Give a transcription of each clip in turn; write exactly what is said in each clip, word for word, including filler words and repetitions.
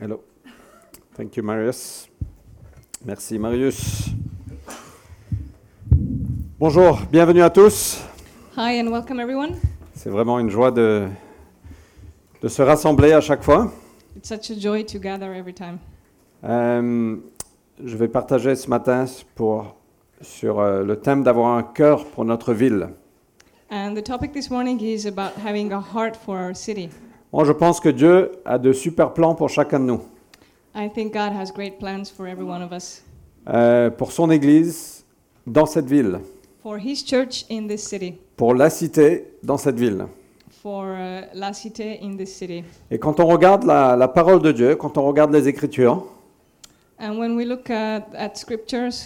Hello. Thank you, Marius. Merci, Marius. Bonjour, bienvenue à tous. Hi and welcome everyone. C'est vraiment une joie de, de se rassembler à chaque fois. It's such a joy to gather every time. Euh, je vais partager ce matin pour, sur euh, le thème d'avoir un cœur pour notre ville. And the topic this morning is about having a heart for our city. Moi, je pense que Dieu a de super plans pour chacun de nous. I think God has great plans for every one of us. Euh, pour son Église dans cette ville. For His church in this city. Pour la cité dans cette ville. For uh, La Cité in this city. Et quand on regarde la, la parole de Dieu, quand on regarde les Écritures, And when we look at, at scriptures,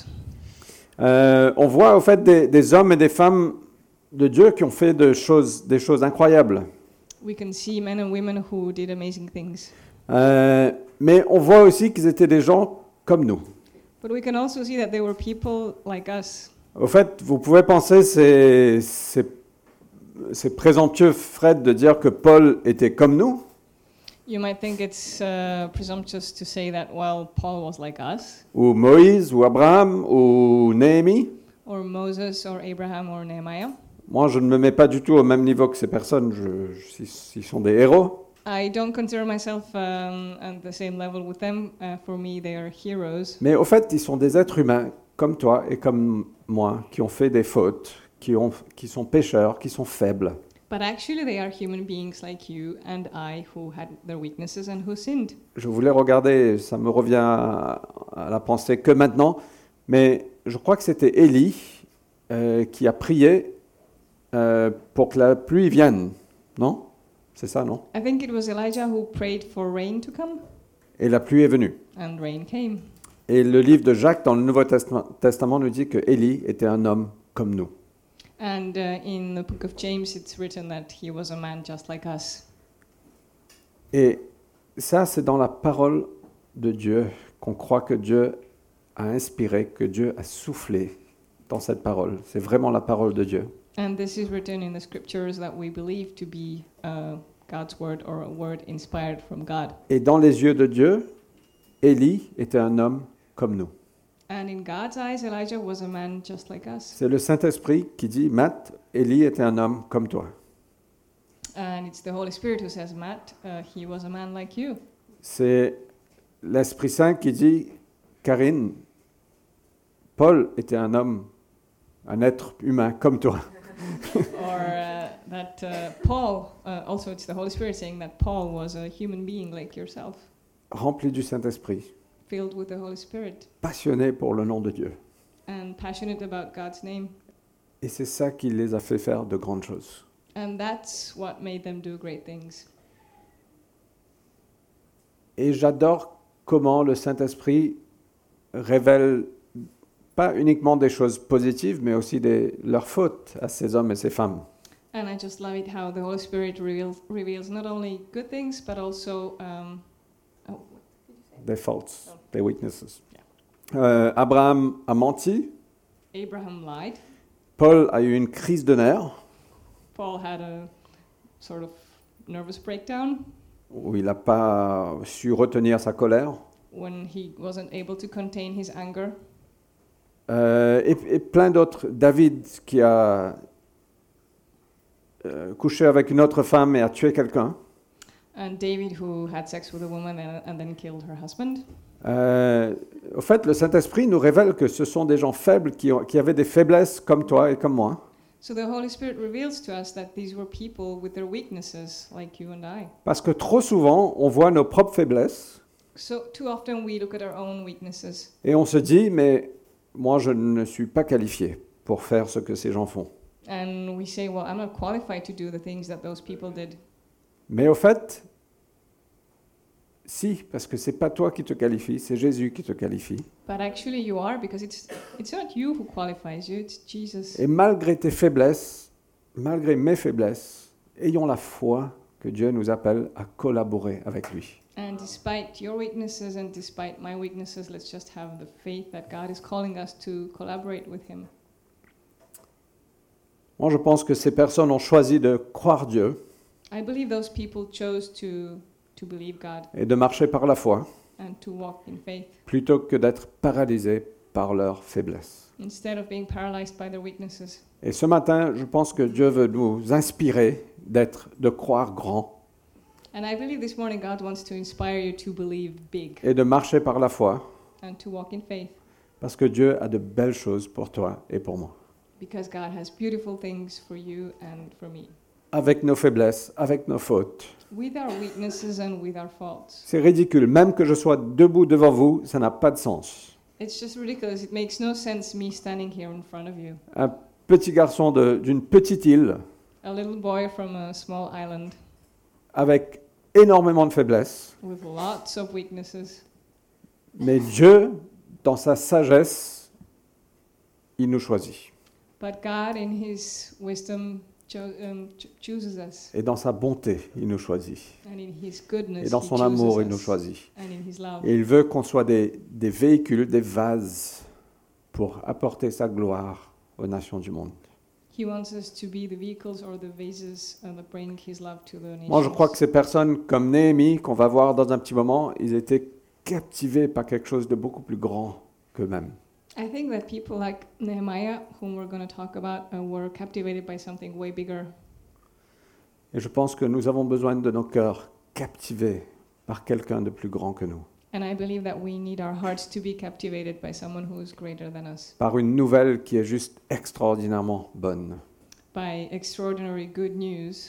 euh, on voit au fait des, des hommes et des femmes de Dieu qui ont fait de choses, des choses incroyables. we can see men and women who did amazing things. Euh, mais on voit aussi qu'ils étaient des gens comme nous. But we can also see that they were people like us. Au fait, vous pouvez penser, c'est, c'est, c'est présomptueux, Fred, de dire que Paul était comme nous. You might think it's uh, presumptuous to say that, well, Paul was like us, Ou Moïse, ou Abraham, ou Néhémie. or Moses, or Abraham, or Nehemiah. Moi, je ne me mets pas du tout au même niveau que ces personnes. Je, je, ils sont des héros. I don't consider myself um, at the same level with them. Uh, for me, they are heroes. Mais au fait, ils sont des êtres humains, comme toi et comme moi, qui ont fait des fautes, qui, ont, qui sont pécheurs, qui sont faibles. But actually, they are human beings like you and I who had their weaknesses and who sinned. Je voulais regarder, ça me revient à, à la pensée que maintenant, mais je crois que c'était Élie euh, qui a prié euh, pour que la pluie vienne, non ? C'est ça, non ? I think it was Elijah who prayed for rain to come, Et la pluie est venue. and rain came. Et le livre de Jacques dans le Nouveau Testament, Testament nous dit que Élie était un homme comme nous. And uh, in the book of James, it's written that he was a man just like us. Et ça, c'est dans la parole de Dieu qu'on croit que Dieu a inspiré, que Dieu a soufflé dans cette parole. C'est vraiment la parole de Dieu. And this is written in the scriptures that we believe to be uh, God's word or a word inspired from God. Et dans les yeux de Dieu, Élie était un homme comme nous. And in God's eyes, Elijah was a man just like us. C'est le Saint-Esprit qui dit, Matt, Élie était un homme comme toi. And it's the Holy Spirit who says, Matt, uh, he was a man like you. C'est l'Esprit Saint qui dit, Karine, Paul était un homme, un être humain comme toi. Or uh, that uh, Paul, uh, also it's the Holy Spirit saying that Paul was a human being like yourself, Rempli du Saint-Esprit, filled with the Holy Spirit passionné pour le nom de Dieu. and passionate about God's name. Et c'est ça qui les a fait faire de grandes choses. And that's what made them do great things. Et j'adore comment le Saint-Esprit révèle pas uniquement des choses positives, mais aussi des, leurs fautes à ces hommes et ces femmes. And I just love it how the Holy Spirit reveals, reveals not only good things, but also um, oh, Des faults, des weaknesses. Euh, Abraham a menti. Abraham lied. Paul a eu une crise de nerfs Paul had a sort of nervous breakdown où il n'a pas su retenir sa colère. when he wasn't able to contain his anger. Euh, et, et plein d'autres. David qui a euh, couché avec une autre femme et a tué quelqu'un. And David, who had sex with a woman and, and then killed her husband. Euh, au fait, le Saint-Esprit nous révèle que ce sont des gens faibles qui, ont, qui avaient des faiblesses comme toi et comme moi. So the Holy Spirit reveals to us that these were people with their weaknesses, like you and I. Parce que trop souvent, on voit nos propres faiblesses So too often we look at our own weaknesses et on se dit, mais moi, je ne suis pas qualifié pour faire ce que ces gens font. and we say, well, I'm not qualified to do the things that those people did. Mais au fait, si, parce que c'est pas toi qui te qualifie, c'est Jésus qui te qualifie. But actually you are, because it's it's not you who qualifies you, it's Jesus. Et malgré tes faiblesses, malgré mes faiblesses, ayons la foi que Dieu nous appelle à collaborer avec lui. And despite your weaknesses and despite my weaknesses, let's just have the faith that God is calling us to collaborate with Him. Moi, je pense que ces personnes ont choisi de croire Dieu I believe those people chose to to believe God et de marcher par la foi and to walk in faith plutôt que d'être paralysés par leur faiblesse. instead of being paralyzed by their weaknesses. Et ce matin, je pense que Dieu veut nous inspirer d'être, de croire grand And I believe this morning God wants to inspire you to believe big et de marcher par la foi and to walk in faith parce que Dieu a de belles choses pour toi et pour moi. because God has beautiful things for you and for me. Avec nos faiblesses, avec nos fautes. With our weaknesses and with our faults. C'est ridicule. Même que je sois debout devant vous, ça n'a pas de sens. It's just ridiculous. It makes no sense me standing here in front of you. Un petit garçon de- d'une petite île A little boy from a small island avec énormément de faiblesses. with lots of weaknesses. Mais Dieu, dans sa sagesse, il nous choisit. But God, in His wisdom, cho- um, ch- chooses us. Et dans sa bonté, il nous choisit. And in His goodness, Et dans He son chooses amour, il nous us. choisit. And in His love. Et il veut qu'on soit des, des véhicules, des vases pour apporter sa gloire aux nations du monde. He wants us to be the vehicles or the vases uh, that bring His love to the nations. Moi, je crois que ces personnes comme Néhémie, qu'on va voir dans un petit moment, ils étaient captivés par quelque chose de beaucoup plus grand qu'eux-mêmes. I think that people like Nehemiah, whom we're going to talk about, uh, were captivated by something way bigger. Et je pense que nous avons besoin de nos cœurs captivés par quelqu'un de plus grand que nous, And I believe that we need our hearts to be captivated by someone who is greater than us, par une nouvelle qui est juste extraordinairement bonne. by extraordinary good news.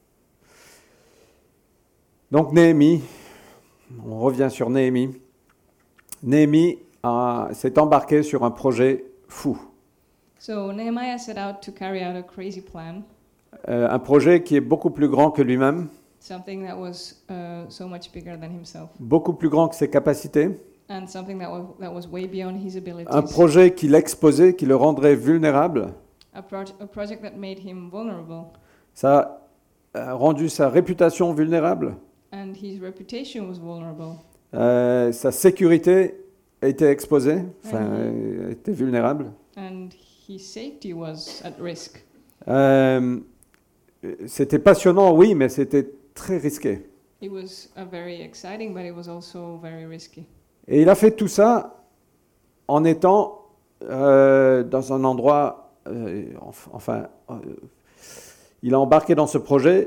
Donc Néhémie, on revient sur Néhémie. Néhémie a- s'est embarqué sur un projet fou, So Nehemiah set out to carry out a crazy plan, Euh, un projet qui est beaucoup plus grand que lui-même, something that was uh, so much bigger than himself, beaucoup plus grand que ses capacités, and something that was, that was way beyond his abilities. un projet qui l'exposait, qui le rendrait vulnérable. A, proj- a project that made him vulnerable, Ça a rendu sa réputation vulnérable, and his reputation was vulnerable. Euh, sa sécurité a été exposée, enfin, Mhm. euh, était vulnérable. And his safety was at risk. Euh, c'était passionnant, oui, mais c'était très risqué. It was uh, very exciting, but it was also very risky. Et il a fait tout ça en étant euh, dans un endroit, euh, enf- enfin, euh, il a embarqué dans ce projet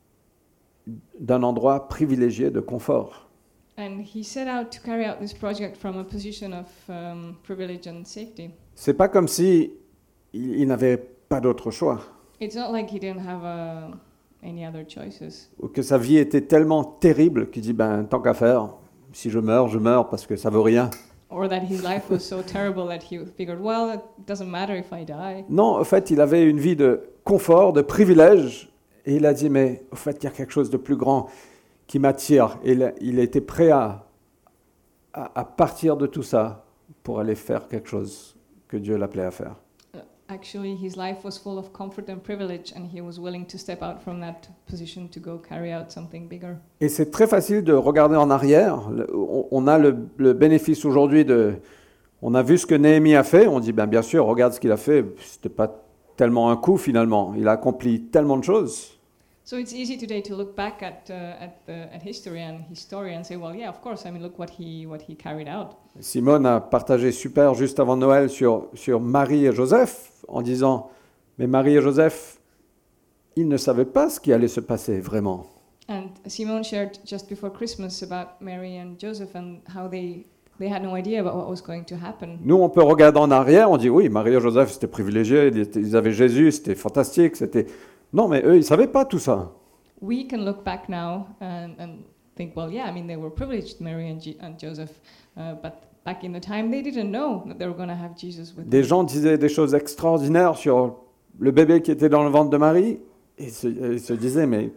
d'un endroit privilégié de confort. And he set out to carry out this project from a position of um, privilege and safety. C'est pas comme si il, il n'avait pas d'autre choix, It's not like he didn't have uh, any other choices, ou que sa vie était tellement terrible qu'il dit ben tant qu'à faire, si je meurs, je meurs parce que ça vaut rien. or that his life was so terrible that he figured, well, it doesn't matter if I die. Non, en fait, il avait une vie de confort, de privilège, et il a dit mais au fait, il y a quelque chose de plus grand qui m'attire. Et il, il était prêt à, à, à partir de tout ça pour aller faire quelque chose que Dieu l'appelait à faire. Uh, Actually, his life was full of comfort and privilege, and he was willing to step out from that position to go carry out something bigger. Et c'est très facile de regarder en arrière. Le- on, on a le, le bénéfice aujourd'hui de... On a vu ce que Néhémie a fait. On dit, ben, bien sûr, regarde ce qu'il a fait. C'était pas tellement un coup finalement. Il a accompli tellement de choses. So it's easy today to look back at uh, at, the, at history and his story and say, well, yeah, of course. I mean, look what he what he carried out. Simone a partagé super juste avant Noël sur, sur Marie et Joseph en disant, mais Marie et Joseph, ils ne savaient pas ce qui allait se passer vraiment. And Simone shared just before Christmas about Mary and Joseph and how they they had no idea about what was going to happen. Nous, on peut regarder en arrière, on dit, oui, Marie et Joseph, c'était privilégié, ils étaient- ils avaient Jésus, c'était fantastique, c'était... Non, mais eux, ils ne savaient pas tout ça. We can look back now and, and think, well, yeah, I mean, they were privileged, Mary and, G- and Joseph, uh, but back in the time, they didn't know that they were going to have Jesus with Des them. gens disaient des choses extraordinaires sur le bébé qui était dans le ventre de Marie, et ils se, ils se disaient, mais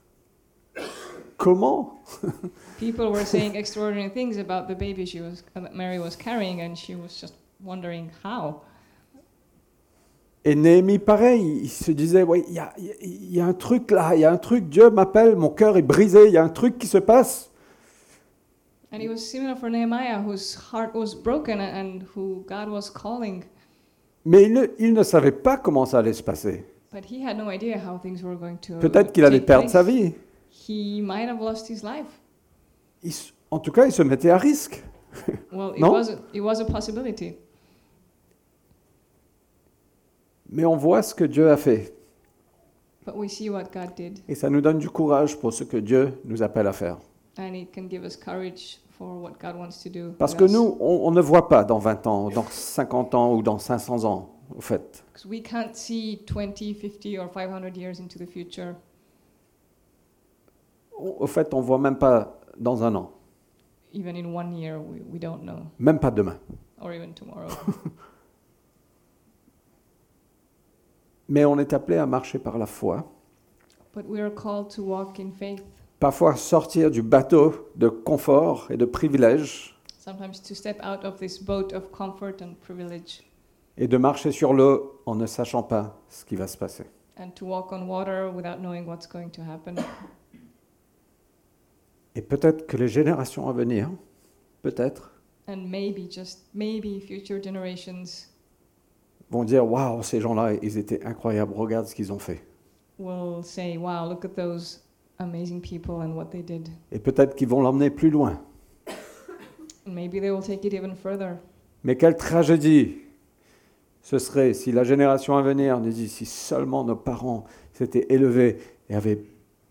comment ? People were saying extraordinary things about the baby she was, uh, that Mary was carrying, and she was just wondering how. Et Néhémie, pareil, il se disait, ouais, il y a, il y a un truc là, il y a un truc, Dieu m'appelle, mon cœur est brisé, il y a un truc qui se passe. And it was similar for Nehemiah, whose heart was broken and, and who God was calling, Mais il ne, il ne savait pas comment ça allait se passer. but he had no idea how things were going to Peut-être qu'il allait take perdre place. sa vie. He might have lost his life. il s- en tout cas, ils se mettaient à risque. Well, it No? was a, it was a possibility. Mais on voit ce que Dieu a fait. But we see what God did, Et ça nous donne du courage pour ce que Dieu nous appelle à faire. and it can give us courage for what God wants to do. Parce with que us. nous, on, on ne voit pas dans vingt ans, dans cinquante ans ou dans cinq cents ans, au fait. Because we can't see twenty, fifty, or five hundred years into the future. Au au fait, on ne voit même pas dans un an, Even in one year, we, we don't know, même pas demain. or even tomorrow. Mais on est appelé à marcher par la foi, But we are called to walk in faith, parfois sortir du bateau de confort et de privilèges sometimes to step out of this boat of comfort and privilege, et de marcher sur l'eau en ne sachant pas ce qui va se passer. and to walk on water without knowing what's going to happen. Et peut-être que les générations à venir, peut-être, And maybe, just maybe, future generations vont dire « Waouh, ces gens-là, ils étaient incroyables, regarde ce qu'ils ont fait. will say, wow, look at those amazing people and what they did. » Et peut-être qu'ils vont l'emmener plus loin. And maybe they will take it even further. Mais quelle tragédie ce serait si la génération à venir nous dit si seulement nos parents s'étaient élevés et avaient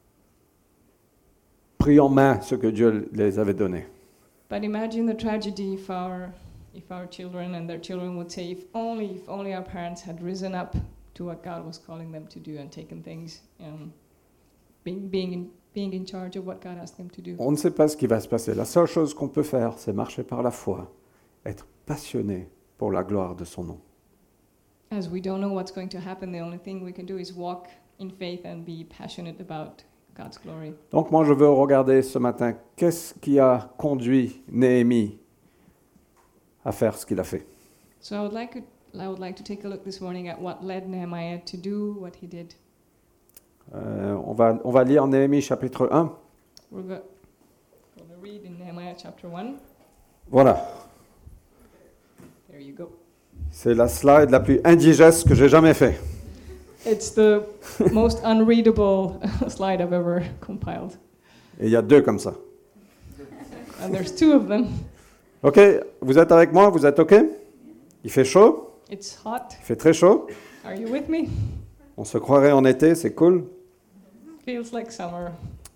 pris en main ce que Dieu les avait donné. But imagine the tragedy if our, if our children and their children would say, if only, if only our parents had risen up to what God was calling them to do and taken things, um, being, being, in, being in charge of what God asked them to do. On ne sait pas ce qui va se passer. La seule chose qu'on peut faire, c'est marcher par la foi, être passionné pour la gloire de son nom. As we don't know what's going to happen, the only thing we can do is walk in faith and be passionate about God's glory. Donc moi, je veux regarder ce matin, qu'est-ce qui a conduit Néhémie à faire ce qu'il a fait. So I would like to, I would like to take a look this morning at what led Nehemiah to do what he did. Euh, on, va, on va lire Néhémie chapitre un. We're go- going to read in Nehemiah chapter one. Voilà, There you go. c'est la slide la plus indigeste que j'ai jamais fait. It's the most unreadable slide I've ever compiled. Et il y a deux comme ça. And there's two of them. Ok, vous êtes avec moi, vous êtes ok? Il fait chaud, It's hot. il fait très chaud. Are you with me? On se croirait en été, c'est cool. Feels like summer.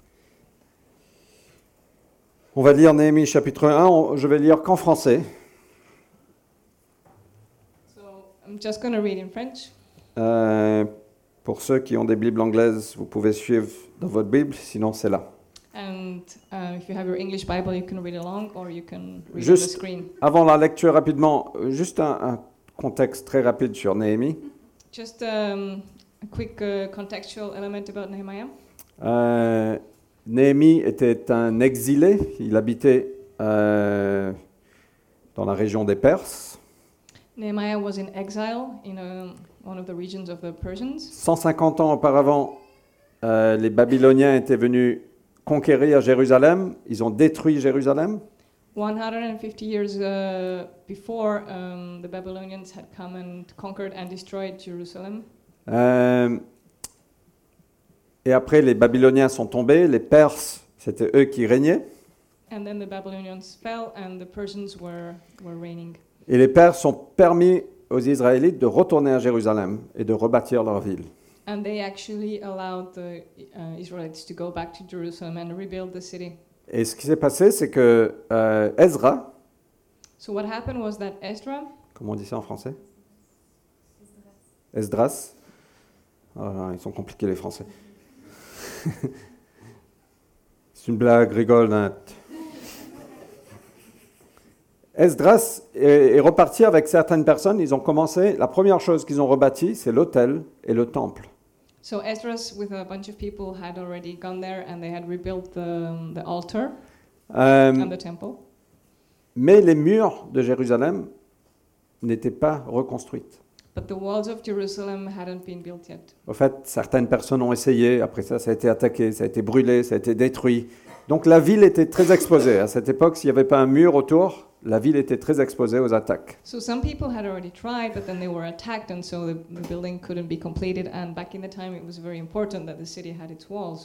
On va lire Néhémie chapitre un, on- je vais lire qu'en français. So I'm just going to read in French. Euh, pour ceux qui ont des Bibles anglaises, vous pouvez suivre dans votre Bible, sinon c'est là. And uh, if you have your English Bible, you can read along or you can read on the Juste screen. avant la lecture rapidement, euh, juste un, un contexte très rapide sur Néhémie. Just um, a quick uh, contextual element about Nehemiah. Euh, Néhémie était un exilé, il habitait euh, dans la région des Perses. Nehemiah was in exile in um, one of the regions of the Persians. cent cinquante ans auparavant, euh, les Babyloniens étaient venus conquérir Jérusalem, ils ont détruit Jérusalem. one hundred fifty years uh, before, um, the Babylonians had come and conquered and destroyed Jerusalem. Euh, et après, les Babyloniens sont tombés, les Perses, c'était eux qui régnaient. And then the Babylonians fell and the Persians were, were reigning. Et les Perses ont permis aux Israélites de retourner à Jérusalem et de rebâtir leur ville. And they actually allowed the uh, Israelites to go back to Jerusalem and rebuild the city. Et ce qui s'est passé, c'est que euh, Ezra, So what happened was that Ezra, comment on dit ça en français? Esdras. Oh là, ils sont compliqués les Français. C'est une blague, rigole. Hein. Esdras est, est reparti avec certaines personnes. Ils ont commencé. La première chose qu'ils ont rebâti, c'est l'autel et le temple. so Esdras with a bunch of people had already gone there and they had rebuilt the, the altar Euh, and the temple. mais les murs de Jérusalem n'étaient pas reconstruits. But the walls of Jerusalem hadn't been built yet. En fait, certaines personnes ont essayé. Après ça, ça a été attaqué, ça a été brûlé, ça a été détruit. Donc la ville était très exposée. À cette époque, s'il n'y avait pas un mur autour, la ville était très exposée aux attaques. So some people had already tried, but then they were attacked, and so the, the building couldn't be completed. And back in the time, it was very important that the city had its walls.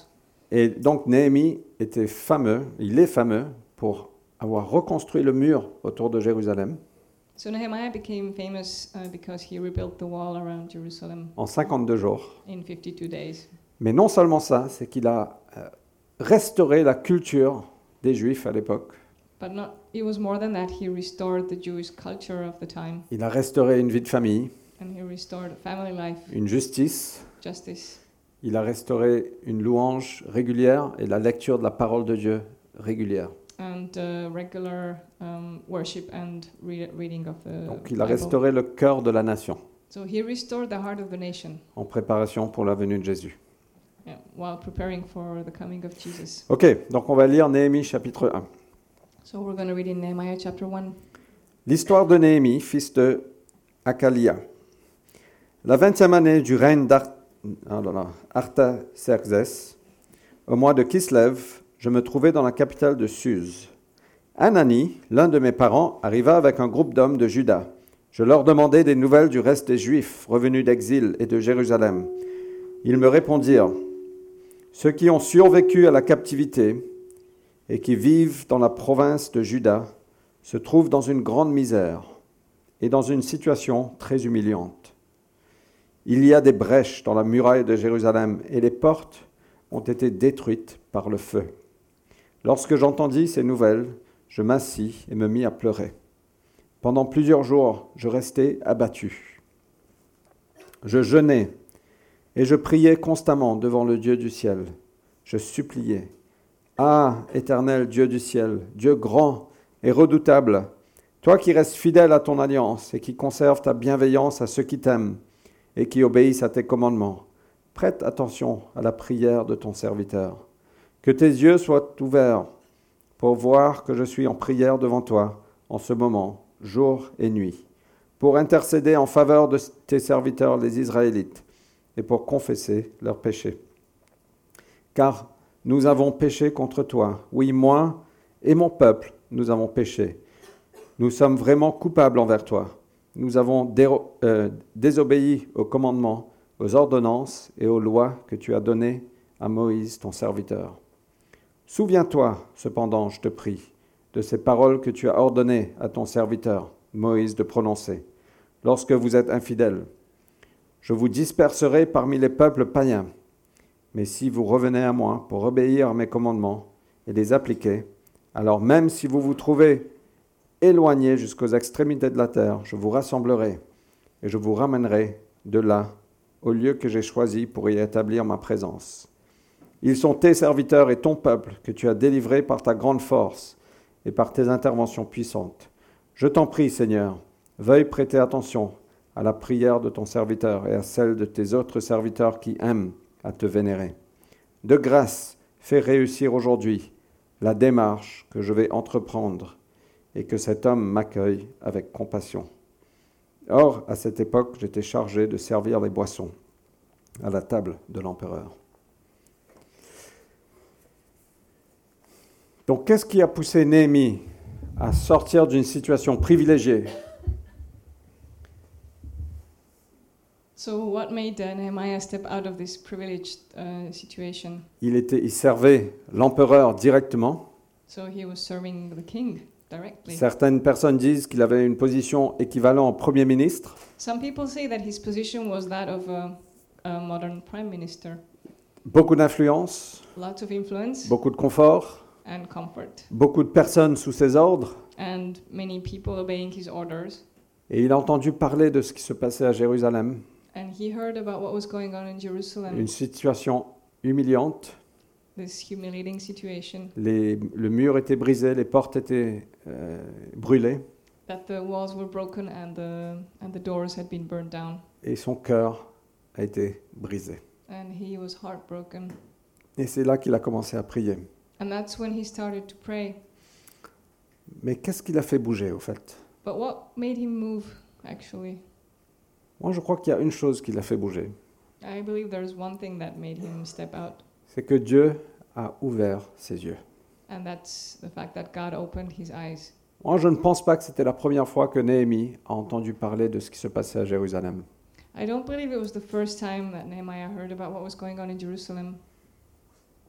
Et donc Néhémie était fameux, il est fameux pour avoir reconstruit le mur autour de Jérusalem So Nehemiah became famous uh, because he rebuilt the wall around Jerusalem en cinquante-deux jours. in fifty-two days. Mais non seulement ça, c'est qu'il a euh, restauré la culture des Juifs à l'époque. But not, it was more than that. He restored the Jewish culture of the time, Il a restauré une vie de famille, and he restored family life, une justice. justice. Il a restauré une louange régulière et la lecture de la parole de Dieu régulière. And uh, regular um, worship and re- reading of the Donc il a Bible. restauré le cœur de la nation So he restored the heart of the nation en préparation pour la venue de Jésus. yeah, while preparing for the coming of Jesus. Ok, donc on va lire Néhémie chapitre un. So we're going to read in Nehemiah chapter one. L'histoire de Néhémie, fils de Hakalia. La vingtième année du règne d'Ar- ah là là, Artaxerxès, au mois de Kislev, je me trouvais dans la capitale de Suse. Anani, l'un de mes parents, arriva avec un groupe d'hommes de Juda. Je leur demandai des nouvelles du reste des Juifs revenus d'exil et de Jérusalem. Ils me répondirent, « Ceux qui ont survécu à la captivité et qui vivent dans la province de Juda se trouvent dans une grande misère et dans une situation très humiliante. Il y a des brèches dans la muraille de Jérusalem et les portes ont été détruites par le feu. Lorsque j'entendis ces nouvelles, je m'assis et me mis à pleurer. Pendant plusieurs jours, je restai abattu. Je jeûnais et je priais constamment devant le Dieu du ciel. Je suppliais. Ah, éternel Dieu du ciel, Dieu grand et redoutable, toi qui restes fidèle à ton alliance et qui conserves ta bienveillance à ceux qui t'aiment et qui obéissent à tes commandements, prête attention à la prière de ton serviteur. Que tes yeux soient ouverts pour voir que je suis en prière devant toi en ce moment, jour et nuit, pour intercéder en faveur de tes serviteurs les Israélites et pour confesser leurs péchés. Car nous avons péché contre toi, oui, moi et mon peuple, nous avons péché. Nous sommes vraiment coupables envers toi. Nous avons déro- euh, désobéi aux commandements, aux ordonnances et aux lois que tu as données à Moïse, ton serviteur. Souviens-toi, cependant, je te prie, de ces paroles que tu as ordonnées à ton serviteur, Moïse, de prononcer. Lorsque vous êtes infidèles, je vous disperserai parmi les peuples païens. Mais si vous revenez à moi pour obéir à mes commandements et les appliquer, alors même si vous vous trouvez éloignés jusqu'aux extrémités de la terre, je vous rassemblerai et je vous ramènerai de là au lieu que j'ai choisi pour y établir ma présence. Ils sont tes serviteurs et ton peuple que tu as délivrés par ta grande force et par tes interventions puissantes. Je t'en prie, Seigneur, veuille prêter attention à la prière de ton serviteur et à celle de tes autres serviteurs qui aiment à te vénérer. De grâce, fais réussir aujourd'hui la démarche que je vais entreprendre et que cet homme m'accueille avec compassion. Or, à cette époque, j'étais chargé de servir les boissons à la table de l'empereur. Donc, qu'est-ce qui a poussé Néhémie à sortir d'une situation privilégiée? So what made uh, Nehemiah step out of this privileged uh, situation? Il, était, il servait l'empereur directement. So he was serving the king directly. Certaines personnes disent qu'il avait une position équivalente au Premier ministre. Some people say that his position was that of a, a modern prime minister. Beaucoup d'influence, Lots of influence beaucoup de confort, and comfort, beaucoup de personnes sous ses ordres. and many people obeying his orders. Et il a entendu parler de ce qui se passait à Jérusalem, And he heard about what was going on in Jerusalem, une situation humiliante. this humiliating situation, Les, le mur était brisé, les portes étaient euh, brûlées, that the walls were broken and the, and the doors had been burned down. et son cœur a été brisé. And he was heartbroken. Et c'est là qu'il a commencé à prier. And that's when he started to pray. Mais qu'est-ce qui l'a fait bouger, au fait? But what made him move, actually? Moi, je crois qu'il y a une chose qui l'a fait bouger. I believe there's one thing that made him step out, C'est que Dieu a ouvert ses yeux. and that's the fact that God opened his eyes. Moi, je ne pense pas que c'était la première fois que Néhémie a entendu parler de ce qui se passait à Jérusalem. I don't believe it was the first time that Nehemiah heard about what was going on in Jerusalem.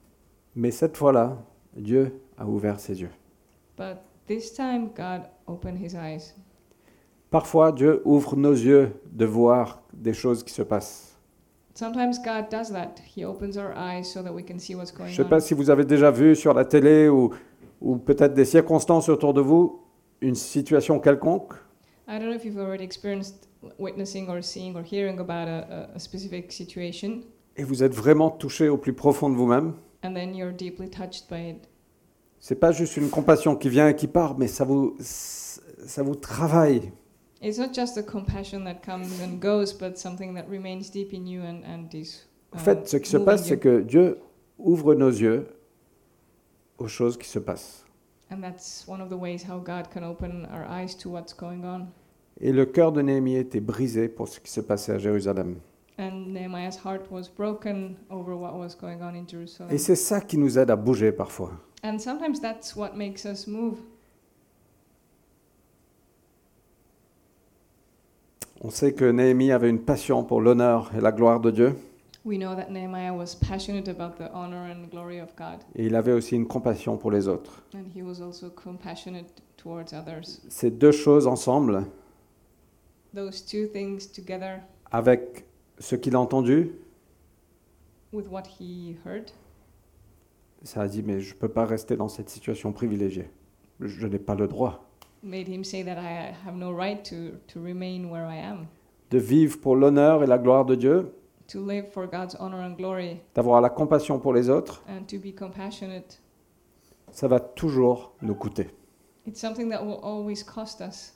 Mais cette fois-là, Dieu a ouvert ses yeux. But this time, God opened his eyes. Parfois, Dieu ouvre nos yeux de voir des choses qui se passent. Sometimes God does that. He opens our eyes so that we can see what's Je going ne sais on. pas si vous avez déjà vu sur la télé ou, ou peut-être des circonstances autour de vous une situation quelconque. I don't know if you've already experienced witnessing or seeing or hearing about a, a, a specific situation, Et vous êtes vraiment touché au plus profond de vous-même. and then you're deeply touched by it. C'est pas juste une compassion qui vient et qui part, mais ça vous, ça vous travaille. It's not just a compassion that comes and goes, but something that remains deep in you and, and is En uh, fait, ce qui se moving passe, you. c'est que Dieu ouvre nos yeux aux choses qui se passent. And that's one of the ways how God can open our eyes to what's going on. Et le cœur de Néhémie était brisé pour ce qui se passait à Jérusalem. And Nehemiah's heart was broken over what was going on in Jerusalem. Et c'est ça qui nous aide à bouger parfois. And sometimes that's what makes us move. On sait que Néhémie avait une passion pour l'honneur et la gloire de Dieu. We know that Nehemiah was passionate about the honor and glory of God, Et il avait aussi une compassion pour les autres. and he was also compassionate towards others. Ces deux choses ensemble, Those two things together avec ce qu'il a entendu, with what he heard, ça a dit, mais je ne peux pas rester dans cette situation privilégiée. Je n'ai pas le droit made him say that I have no right to, to remain where I am, de vivre pour l'honneur et la gloire de Dieu, to live for God's honor and glory, d'avoir la compassion pour les autres. and to be compassionate. Ça va toujours nous coûter. It's something that will always cost us,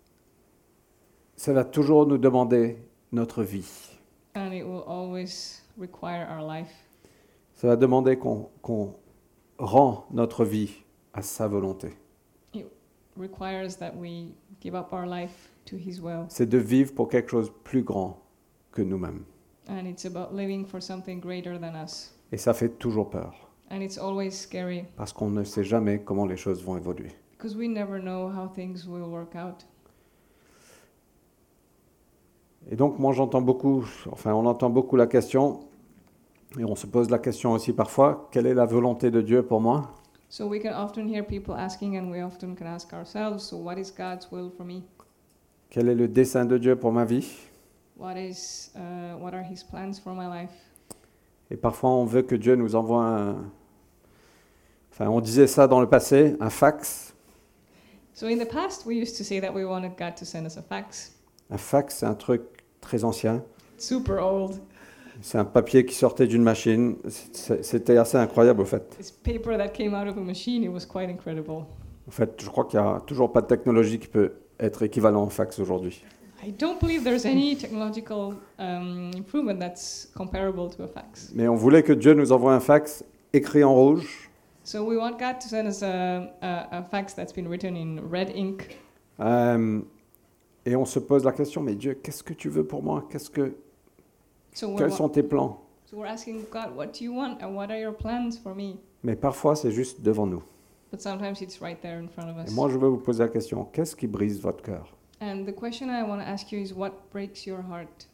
Ça va toujours nous demander notre vie. and it will always require our life. Ça va demander qu'on qu'on rend notre vie à sa volonté. Requires that we give up our life to his will. C'est de vivre pour quelque chose de plus grand que nous-mêmes. And it's about living for something greater than us. Et ça fait toujours peur, And it's always scary parce qu'on ne sait jamais comment les choses vont évoluer. because we never know how things will work out. Et donc moi j'entends beaucoup, enfin on entend beaucoup la question, et on se pose la question aussi parfois, quelle est la volonté de Dieu pour moi ? So we can often hear people asking, and we often can ask ourselves, so what is God's will for me? Quel est le dessein de Dieu pour ma vie ? What is uh, what are his plans for my life? Et parfois on veut que Dieu nous envoie un... Enfin on disait ça dans le passé, un fax. So in the past we used to say that we wanted God to send us a fax. Un fax c'est un truc très ancien. Super old. C'est un papier qui sortait d'une machine. C'est- C'était assez incroyable au fait. This paper that came out of a machine, it was quite incredible. En fait, je crois qu'il n'y a toujours pas de technologie qui peut être équivalent au fax aujourd'hui. I don't believe there's any technological um, improvement that's comparable to a fax. Mais on voulait que Dieu nous envoie un fax écrit en rouge, So we want God to send us a, a, a fax that's been written in red ink. euh, et on se pose la question, mais Dieu, qu'est-ce que tu veux pour moi ? Qu'est-ce que, So we're, Quels wa- sont tes plans ? so we're asking God, what do you want and what are your plans for me? Mais parfois, c'est juste devant nous. But sometimes it's right there in front of Et us. moi, je veux vous poser la question, qu'est-ce qui brise votre cœur ? And the question I want to ask you is, what breaks your heart?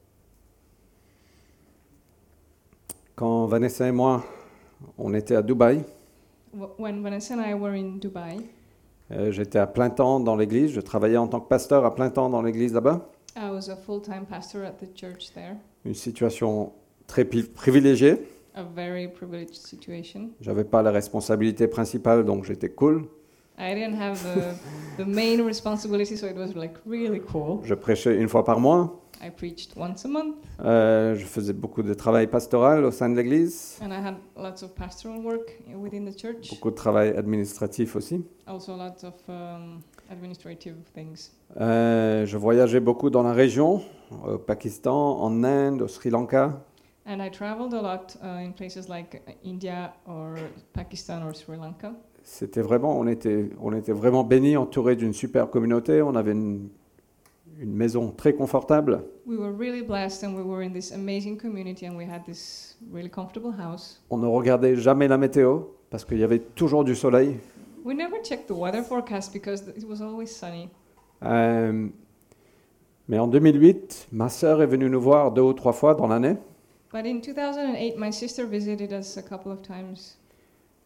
Quand Vanessa et moi, on était à Dubaï, Wh- When Vanessa and I were in Dubai, euh, j'étais à plein temps dans l'église, je travaillais en tant que pasteur à plein temps dans l'église là-bas. I was a full-time pastor at the church there, Une situation très pi- privilégiée. a very privileged situation. J'avais pas la responsabilité principale, donc j'étais cool. I didn't have the, the main responsibility, so it was like really cool. Je prêchais une fois par mois. I preached once a month, Euh, je faisais beaucoup de travail pastoral au sein de l'église. and I had lots of pastoral work within the church, Beaucoup de travail administratif aussi. also lots of um, administrative things. Euh, je voyageais beaucoup dans la région, au Pakistan, en Inde, au Sri Lanka. And I traveled a lot uh, in places like India or Pakistan or Sri Lanka. C'était vraiment, on était, on était vraiment bénis, entourés d'une super communauté. On avait une, une maison très confortable. We were really blessed, and we were in this amazing community, and we had this really comfortable house. On ne regardait jamais la météo parce qu'il y avait toujours du soleil. We never checked the weather forecast because it was always sunny. Euh, mais en deux mille huit, ma sœur est venue nous voir deux ou trois fois dans l'année. But in two thousand eight, my sister visited us a couple of times.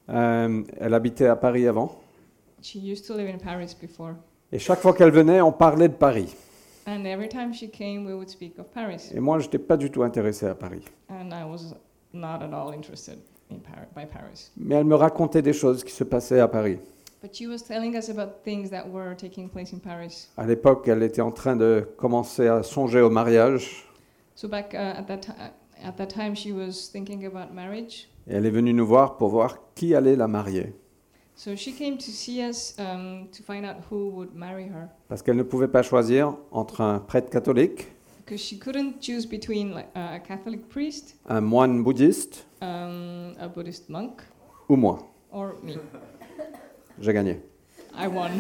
Euh, elle habitait à Paris avant. She used to live in Paris before. Et chaque fois qu'elle venait, on parlait de Paris. And every time she came, we would speak of Paris. Et moi, je n'étais pas du tout intéressé à Paris. And I was not at all interested in Par- by Paris. Mais elle me racontait des choses qui se passaient à Paris. But she was telling us about things that were taking place in Paris. À l'époque, elle était en train de commencer à songer au mariage. So back uh, at that ti- at that time, she was thinking about marriage. Et elle est venue nous voir pour voir qui allait la marier. So she came to see us um, to find out who would marry her, Parce qu'elle ne pouvait pas choisir entre un prêtre catholique, because she couldn't choose between like, uh, a Catholic priest, un moine bouddhiste um, a Buddhist monk, ou moi. or me. J'ai gagné. I won.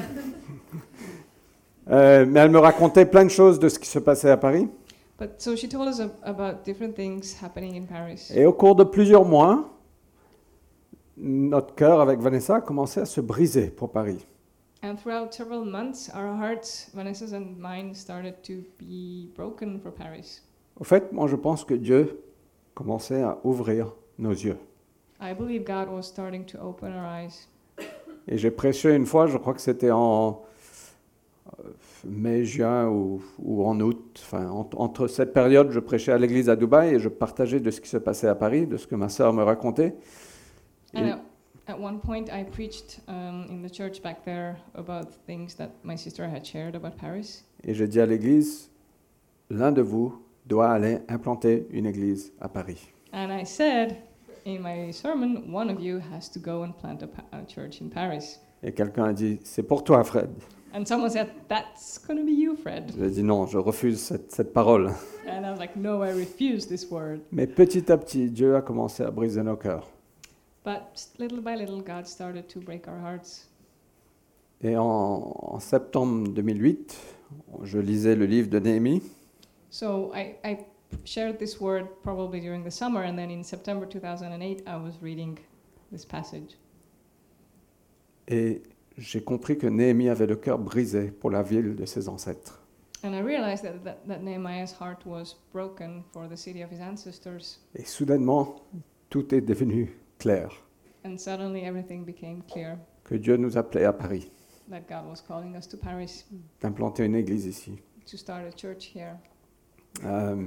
Euh, mais elle me racontait plein de choses de ce qui se passait à Paris. But so she told us ab- about different things happening in Paris. Et au cours de plusieurs mois, notre cœur avec Vanessa a commencé à se briser pour Paris. And throughout several months, our hearts, Vanessa's and mine, started to be broken for Paris. Au fait, moi je pense que Dieu commençait à ouvrir nos yeux. I believe God was starting to open our eyes. Et j'ai prêché une fois, je crois que c'était en euh, mai, juin ou, ou en août. Enfin, en- entre cette période, je prêchais à l'église à Dubaï et je partageais de ce qui se passait à Paris, de ce que ma sœur me racontait. Et, And at, at one point, I preached um, in the church back there about things that my sister had shared about Paris. et j'ai dit à l'église, l'un de vous doit aller implanter une église à Paris. And I said in my sermon, one of you has to go and plant a, pa- a church in Paris. Et quelqu'un a dit, c'est pour toi, Fred. And someone said, that's going to be you, Fred. J'ai dit non, je refuse cette, cette parole. And I was like, no, I refuse this word. Mais petit à petit, Dieu a commencé à briser nos cœurs. But s- little by little, God started to break our hearts. Et en, en septembre deux mille huit, je lisais le livre de Néhémie. So I, I shared this word probably during the summer, and then in September two thousand eight, I was reading this passage. Et j'ai compris que Néhémie avait le cœur brisé pour la ville de ses ancêtres. And I realized that, that, that Nehemiah's heart was broken for the city of his ancestors. Et soudainement, tout est devenu clair, And suddenly everything became clear que Dieu nous appelait à Paris, that God was calling us to Paris d'implanter une église ici. to start a church here. Euh,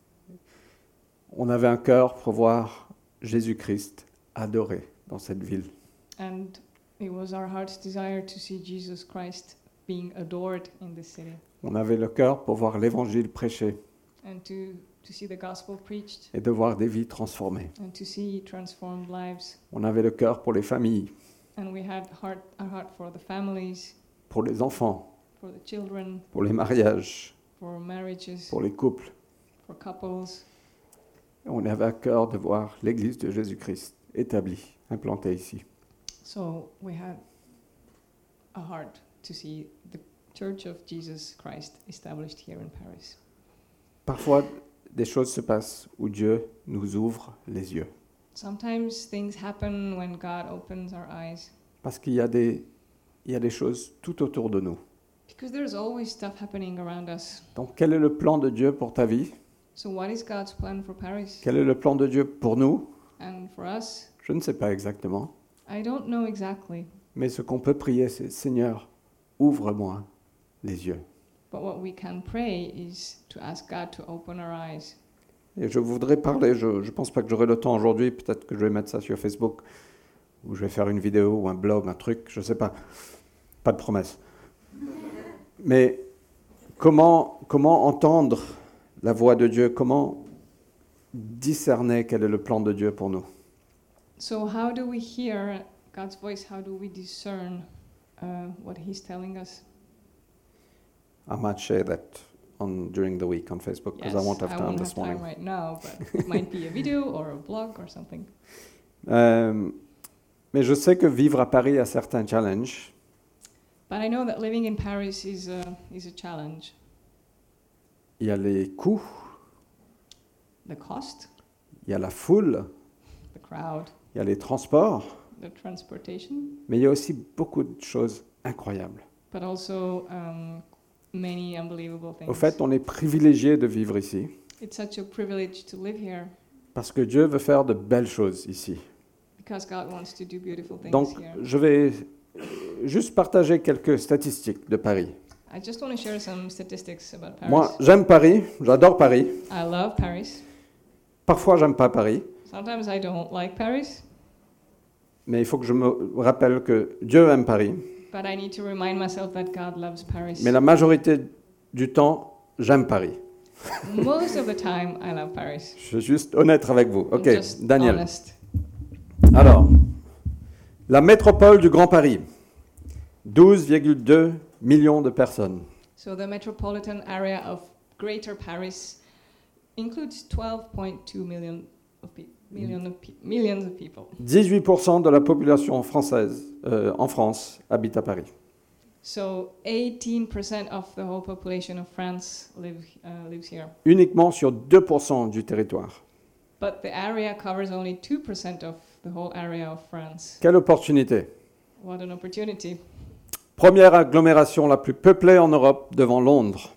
on avait un cœur pour voir Jésus-Christ adoré dans cette ville. And it was our heart's desire to see Jesus Christ being adored in this city On avait le cœur pour voir l'évangile prêché and to, to see the gospel preached et de voir des vies transformées. and to see transformed lives. On avait le cœur pour les familles, And we had heart, a heart for the families, pour les enfants, for the children, pour les mariages, for marriages, pour les couples. for couples. On avait à cœur de voir l'église de Jésus-Christ établie, implantée ici. So we had a heart to see the Church of Jesus Christ established here in Paris. Parfois, des choses se passent où Dieu nous ouvre les yeux. Sometimes things happen when God opens our eyes, Parce qu'il y a des, il y a des choses tout autour de nous. because there's always stuff happening around us. Donc, quel est le plan de Dieu pour ta vie? So what is God's plan for Paris Quel est le plan de Dieu pour nous? and for us? Je ne sais pas exactement. I don't know exactly, Mais ce qu'on peut prier, c'est Seigneur, ouvre-moi les yeux. but what we can pray is to ask God to open our eyes. Et je voudrais parler, je ne pense pas que j'aurai le temps aujourd'hui, peut-être que je vais mettre ça sur Facebook, ou je vais faire une vidéo, ou un blog, un truc, je ne sais pas. Pas de promesse. Mais comment, comment entendre la voix de Dieu? Comment discerner quel est le plan de Dieu pour nous? So how do we hear God's voice? How do we discern uh, what He's telling us? I might share that on, during the week on Facebook, because I won't have time won't this have time morning. right now, but it might be a video or a blog or something. Euh, mais je sais que vivre à Paris a certains challenges. But I know that living in Paris is a, is a challenge. Il y a les coûts, The cost, il y a la foule, the crowd, il y a les transports, the transportation, mais il y a aussi beaucoup de choses incroyables. but also um, many unbelievable things. Au fait, on est privilégié de vivre ici, It's such a privilege to live here parce que Dieu veut faire de belles choses ici. because God wants to do beautiful things Donc, here. je vais juste partager quelques statistiques de Paris. I just want to share some statistics about Paris. Moi, j'aime Paris, j'adore Paris. I love Paris. Parfois, j'aime pas Paris, Sometimes I don't like Paris, mais il faut que je me rappelle que Dieu aime Paris. but I need to remind myself that God loves Paris. Mais la majorité du temps, j'aime Paris. Most of the time, I love Paris. Je suis juste honnête avec vous. I'm Ok, just Daniel. honest. Alors, la métropole du Grand Paris, douze virgule deux millions de personnes. So the metropolitan area of Greater Paris includes twelve point two million of pe- million of pe- millions of people. dix-huit pour cent de la population française euh, en France habite à Paris. So eighteen percent of the whole population of France live uh, lives here. Uniquement sur deux pour cent du territoire. But the area covers only two percent of the whole area of France. Quelle opportunité! What an opportunity. Première agglomération la plus peuplée en Europe devant Londres.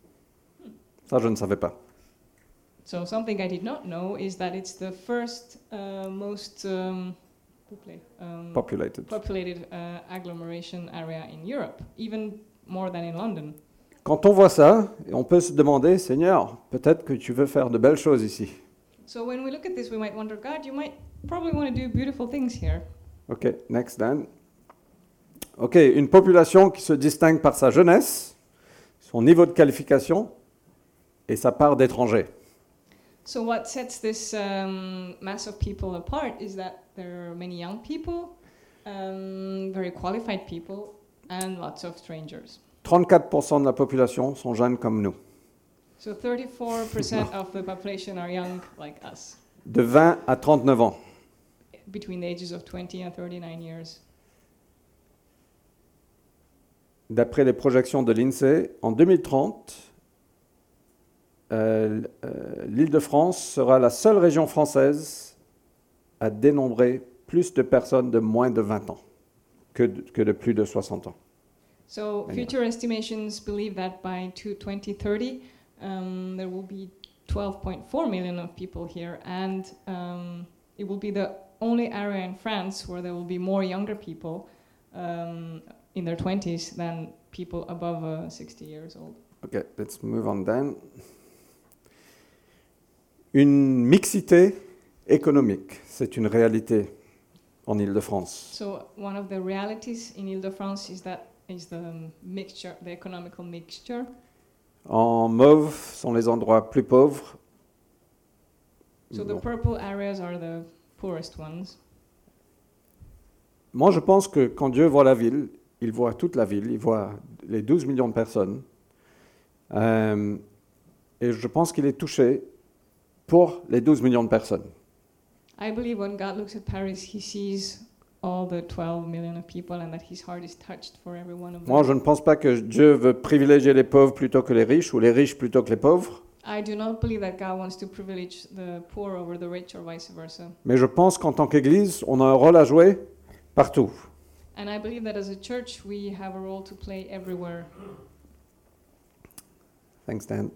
Ça, je ne savais pas. So something I did not know is that it's the first uh, most um, popula- um, Populated. populated uh, agglomeration area in Europe, even more than in London. Quand on voit ça, on peut se demander, Seigneur, peut-être que tu veux faire de belles choses ici. So when we look at this, we might wonder, God, you might probably want to do beautiful things here. Ok, next Dan. Ok, une population qui se distingue par sa jeunesse, son niveau de qualification et sa part d'étrangers. So what sets this um, mass of people apart is that there are many young people, um, very qualified people, and lots of strangers. trente-quatre pour cent de la population sont jeunes comme nous, So thirty-four percent of the population are young like us, de vingt à trente-neuf ans. between the ages of twenty and thirty-nine years. D'après les projections de l'INSEE, en deux mille trente, euh, euh, l'Île-de-France sera la seule région française à dénombrer plus de personnes de moins de vingt ans que de, que de plus de soixante ans. So Anyway. future estimations believe that by twenty thirty, um, there will be twelve point four million of people here, and um, it will be the only area in France where there will be more younger people um, in their twenties than people above uh, sixty years old. Okay, let's move on then. Une mixité économique, c'est une réalité en Île-de-France. So one of the realities in Ile-de-France is that is the mixture, the economical mixture. En mauve sont les endroits plus pauvres. So the Bon. purple areas are the poorest ones. Moi, je pense que quand Dieu voit la ville, il voit toute la ville, il voit les douze millions de personnes. Euh, et je pense qu'il est touché pour les douze millions de personnes. I believe when God looks at Paris, he sees all the twelve million of people and that his heart is touched for every one of them. Moi, je ne pense pas que Dieu veut privilégier les pauvres plutôt que les riches ou les riches plutôt que les pauvres. I do not believe that God wants to privilege the poor over the rich or vice versa. Mais je pense qu'en tant qu'Église, on a un rôle à jouer partout. And I believe that as a church, we have a role to play everywhere. Thanks, Dan.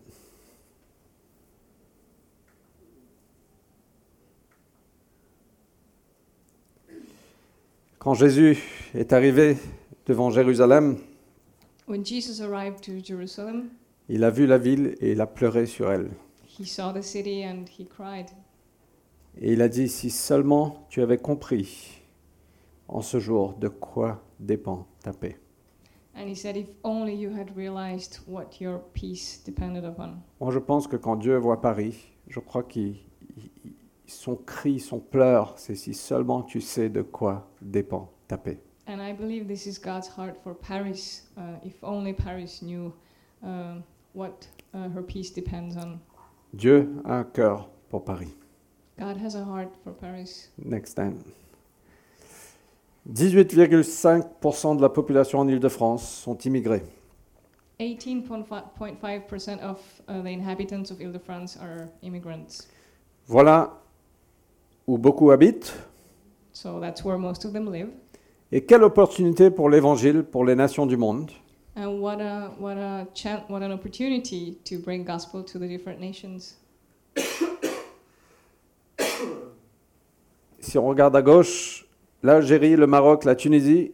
Quand Jésus est arrivé devant Jérusalem, When Jesus arrived to Jerusalem, il a vu la ville et il a pleuré sur elle. he saw the city and he cried. Et il a dit, si seulement tu avais compris en ce jour de quoi dépend ta paix. And he said, if only you had realized what your peace depended upon. Moi, je pense que quand Dieu voit Paris, je crois qu'il il- son cri, son pleur, c'est si seulement tu sais de quoi dépend ta paix. And I believe this is God's heart for Paris. Uh, if only Paris knew uh, what uh, her peace depends on. Dieu a un cœur pour Paris. God has a heart for Paris. Next time. dix-huit virgule cinq pour cent de la population en Île-de-France sont immigrés. eighteen point five percent of uh, the inhabitants of Ile-de-France are immigrants. Voilà où beaucoup habitent. So that's where most of them live. Et quelle opportunité pour l'Évangile, pour les nations du monde. And what a what a chan- what an opportunity to bring gospel to the different nations. si on regarde à gauche, l'Algérie, le Maroc, la Tunisie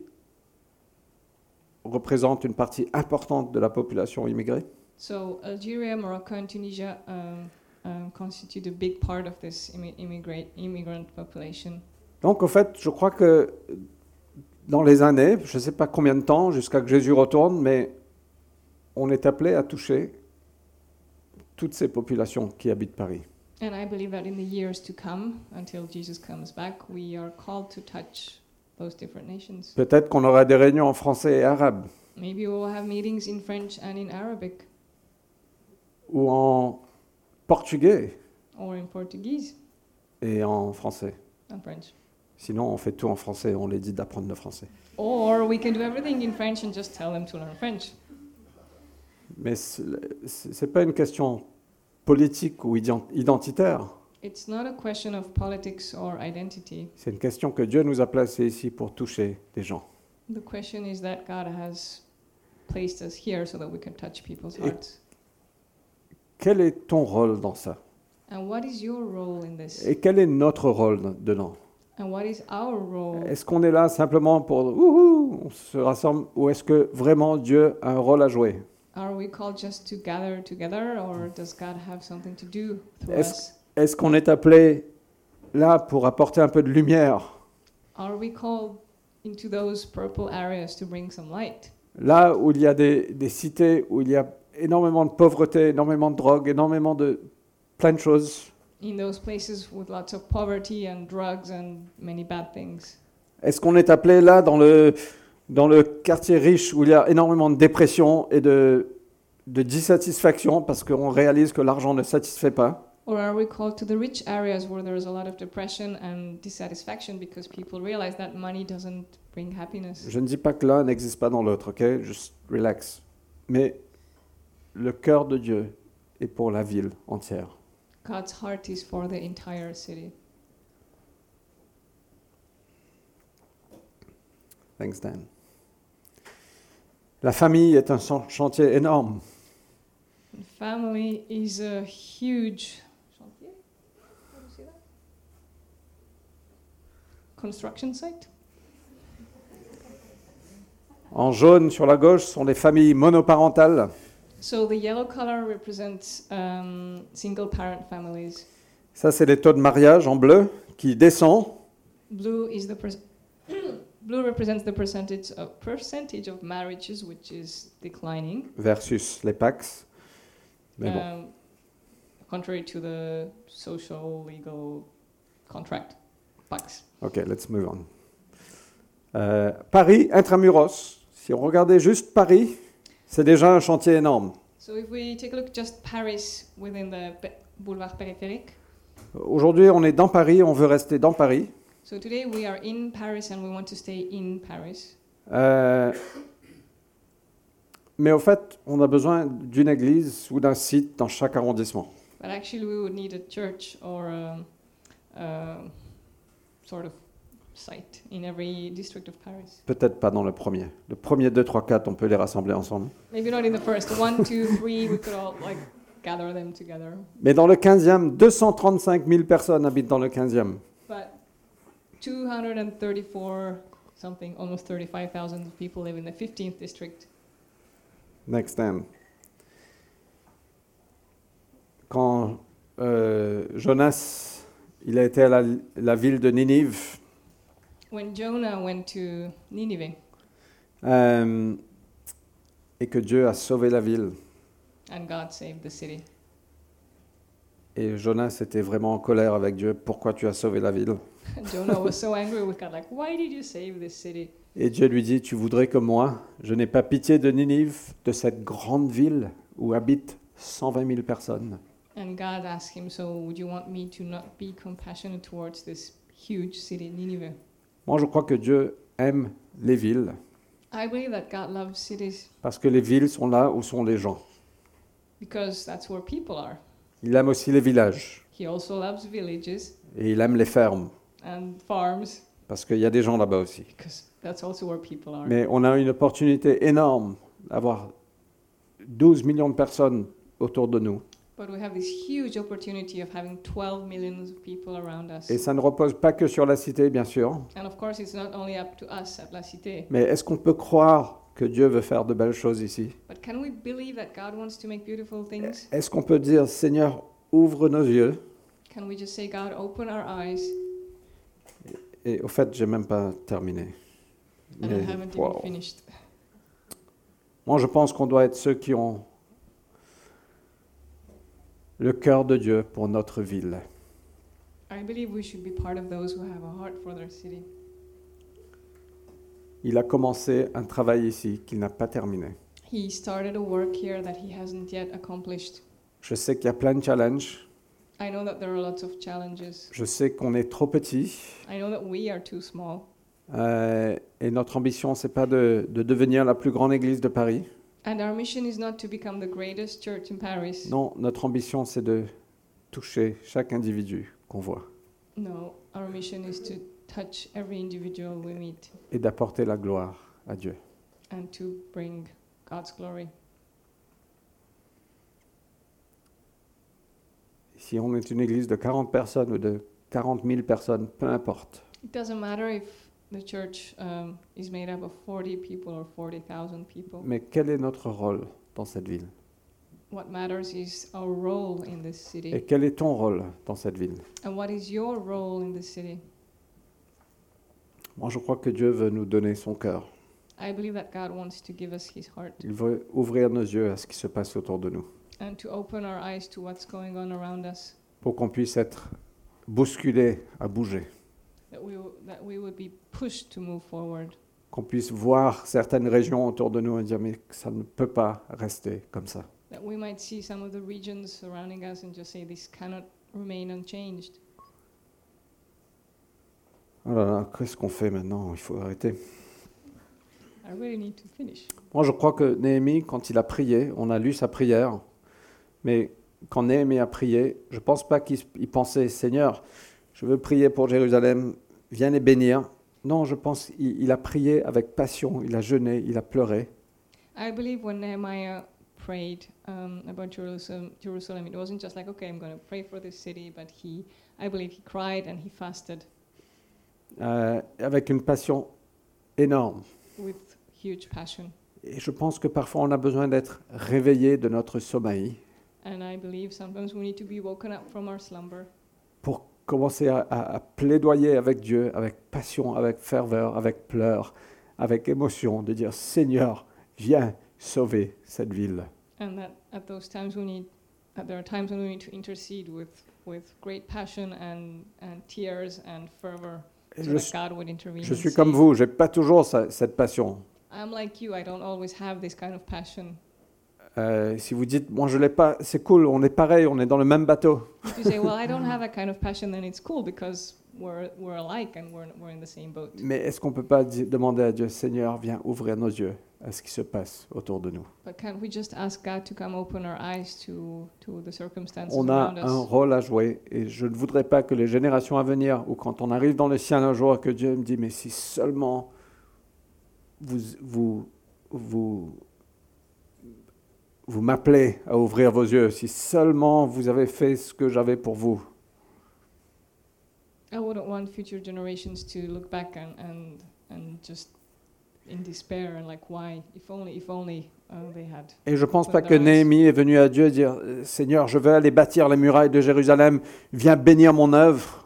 représentent une partie importante de la population immigrée. So Algeria, Morocco, and Tunisia um, um, constitute a big part of this immi- immigrant immigrant population. Donc, en fait, je crois que dans les années, je ne sais pas combien de temps, jusqu'à que Jésus retourne, mais on est appelé à toucher toutes ces populations qui habitent Paris. And I believe that in the years to come, until Jesus comes back, we are called to touch those different nations. Peut-être qu'on aura des réunions en français et arabe, Maybe we will have meetings in French and in Arabic, ou en portugais or in Portuguese et en français. and French. Sinon, on fait tout en français, on les dit d'apprendre le français. Or we can do everything in French and just tell them to learn French. Mais ce n'est pas une question politique ou ident- identitaire. It's not a question of politics or identity. C'est une question que Dieu nous a placée ici pour toucher des gens. The question is that God has placed us here so that we can touch people's Et- hearts. Quel est ton rôle dans ça? And what is your role in this? Et quel est notre rôle dedans? And what is our role? Est-ce qu'on est là simplement pour Wouhou, on se rassemble, ou est-ce que vraiment Dieu a un rôle à jouer? Are we called just to gather together, or does God have something to do through Est-ce- us? Est-ce qu'on est appelé là pour apporter un peu de lumière? Are we called into those purple areas to bring some light? Là où il y a des, des cités, où il y a énormément de pauvreté, énormément de drogue, énormément de plein de choses. In those places with lots of poverty and drugs and many bad things? Est-ce qu'on est appelé là dans le, dans le quartier riche où il y a énormément de dépression et de, de dissatisfaction parce qu'on réalise que l'argent ne satisfait pas? Or are we called to the rich areas where there is a lot of depression and dissatisfaction because people realize that money doesn't bring happiness? Je ne dis pas que l'un n'existe pas dans l'autre, ok? Juste relax. Mais le cœur de Dieu est pour la ville entière. God's heart is for the entire city. Thanks, Dan. La famille est un chan- chantier énorme. And family is a huge chantier? How do you say that? Construction site. En jaune sur la gauche sont les familles monoparentales. So the yellow color represents um, single parent families. Ça, c'est les taux de mariage en bleu qui descend. Blue is the per- blue represents the percentage of percentage of marriages which is declining. Versus les P A C. Mais bon. Um, contrary to the social legal contract, Pax. Ok, let's move on. Euh, Paris, intramuros. Si on regardait juste Paris, c'est déjà un chantier énorme. So if we take a look just Paris within the pe- boulevard périphérique. Aujourd'hui, on est dans Paris, on veut rester dans Paris. So today we are in Paris and we want to stay in Paris. Euh, mais au fait, on a besoin d'une église ou d'un site dans chaque arrondissement. But actually we would need a church or a, a sort of site in every district of Paris. Peut-être pas dans le premier. Le premier, deux, trois, quatre, on peut les rassembler ensemble. Maybe not in the first. One, two, three, we could all like gather them together. Mais dans le quinzième, deux cent trente-cinq mille personnes habitent dans le quinzième. But two hundred thirty-four something, almost thirty-five thousand people live in the fifteenth district. Next time. Quand euh, Jonas, il a été à la, la ville de Ninive, When Jonah went to Nineveh euh, et que Dieu a sauvé la ville, and God saved the city, et Jonas était vraiment en colère avec Dieu, pourquoi tu as sauvé la ville? Jonah was so angry with God, like, why did you save this city? Et Dieu lui dit, tu voudrais comme moi, je n'ai pas pitié de Ninive, de cette grande ville où habitent cent vingt mille personnes. And God asked him, so would you want me to not be compassionate towards this huge city, Nineveh? Moi, je crois que Dieu aime les villes, I believe that God loves cities parce que les villes sont là où sont les gens. because that's where people are. Il aime aussi les villages, He also loves villages et il aime les fermes, and farms parce qu'il y a des gens là-bas aussi. because that's also where people are. Mais on a une opportunité énorme d'avoir douze millions de personnes autour de nous. But we have this huge opportunity of having twelve millions of people around us. Et ça ne repose pas que sur la cité, bien sûr. And of course, it's not only up to us at La Cité. Mais est-ce qu'on peut croire que Dieu veut faire de belles choses ici? But can we believe that God wants to make beautiful things? Est-ce qu'on peut dire, Seigneur, ouvre nos yeux? Can we just say, God, open our eyes? Et au fait, j'ai même pas terminé. And Mais, I haven't wow. even finished. Moi, je pense qu'on doit être ceux qui ont le cœur de Dieu pour notre ville. I believe we should be part of those who have a heart for their city. Il a commencé un travail ici qu'il n'a pas terminé. He started a work here that he hasn't yet accomplished. Je sais qu'il y a plein de challenges. I know that there are lots of challenges. Je sais qu'on est trop petit. I know that we are too small. Euh, et notre ambition, c'est pas de, de devenir la plus grande église de Paris. And our mission is not to become the greatest church in Paris. Non, notre ambition, c'est de toucher chaque individu qu'on voit No, our mission is to touch every individual we meet et d'apporter la gloire à Dieu. and to bring God's glory. Si on est une église de quarante personnes ou de quarante mille personnes, peu importe. It doesn't matter if the church um, is made up of forty people or forty thousand people. Mais quel est notre rôle dans cette ville? What matters is our role in this city. Et quel est ton rôle dans cette ville? And what is your role in this city? Moi, je crois que Dieu veut nous donner son cœur. I believe that God wants to give us his heart Il veut ouvrir nos yeux à ce qui se passe autour de nous and to open our eyes to what's going on around us, pour qu'on puisse être bousculé à bouger, that we, w- that we would be pushed to move forward, qu'on puisse voir certaines régions autour de nous et dire mais ça ne peut pas rester comme ça. that we might see some of the regions surrounding us and just say this cannot remain unchanged. Oh là là, qu'est-ce qu'on fait maintenant? Il faut arrêter. I really need to finish. Moi, je crois que Néhémie, quand il a prié, on a lu sa prière, mais quand Néhémie a prié, je ne pense pas qu'il il pensait, Seigneur, je veux prier pour Jérusalem, viens les bénir. Non, je pense qu'il il a prié avec passion, il a jeûné, il a pleuré. I believe when Nehemiah prayed um, about Jerusalem, Jerusalem, it wasn't just like, okay, I'm going to pray for this city, but he, I believe he cried and he fasted Euh, avec une passion énorme. with huge passion. Et je pense que parfois on a besoin d'être réveillé de notre sommeil And I believe sometimes we need to be woken up from our slumber pour commencer à, à- à plaidoyer avec Dieu, avec passion, avec ferveur, avec pleurs, avec émotion, de dire Seigneur, viens sauver cette ville. and that at those times we need, that there are times when we need to intercede with, with great passion and, and tears and fervor Et so je, that suis- God would intervene. je and suis comme save. vous, j'ai pas toujours ça- cette passion. I'm like you, I don't always have this kind of passion. Euh, si vous dites, moi je l'ai pas, c'est cool, on est pareil, on est dans le même bateau. If you say, well, I don't have that kind of passion, then it's cool because we're, we're alike and we're, we're in the same boat. Mais est-ce qu'on peut pas di- demander à Dieu, Seigneur, viens ouvrir nos yeux à ce qui se passe autour de nous? But can't we just ask God to come open our eyes to, to the circumstances On a around un us? rôle à jouer et je ne voudrais pas que les générations à venir, ou quand on arrive dans le sien un jour, que Dieu me dise, mais si seulement vous, vous, vous, vous m'appelez à ouvrir vos yeux, si seulement vous avez fait ce que j'avais pour vous. I wouldn't want future generations to look back and, and, and just in despair and like, why? If only, if only uh, they had. Et je ne pense pas Open que their eyes. Néhémie est venu à Dieu dire, Seigneur, je veux aller bâtir les murailles de Jérusalem, viens bénir mon œuvre.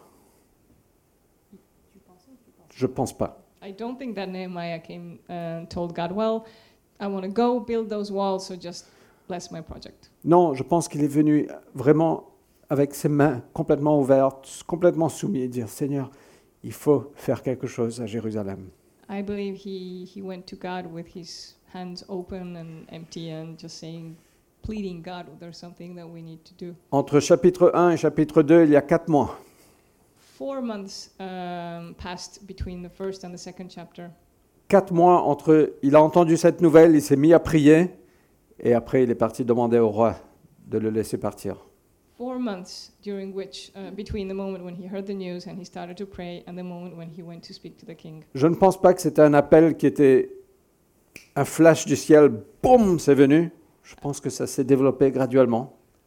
Je ne pense pas. I don't think that Nehemiah came and told God, well, I want to go build those walls, so just bless my project. Non, je pense qu'il est venu vraiment avec ses mains complètement ouvertes, complètement soumis et dire, Seigneur, il faut faire quelque chose à Jérusalem. I believe he, he went to God with his hands open and empty and just saying, pleading God, there's something that we need to do. Entre chapitre un et chapitre deux, il y a quatre mois. Four months um, passed between the first and the second chapter. Quatre mois entre, il a entendu cette nouvelle, il s'est mis à prier, et après il est parti demander au roi de le laisser partir. Four months during which, uh, between the moment when he heard the news and he started to pray and the moment when he went to speak to the king. Je ne pense pas que c'était un appel qui était un flash du ciel, boum, c'est venu. Je pense que ça s'est développé graduellement.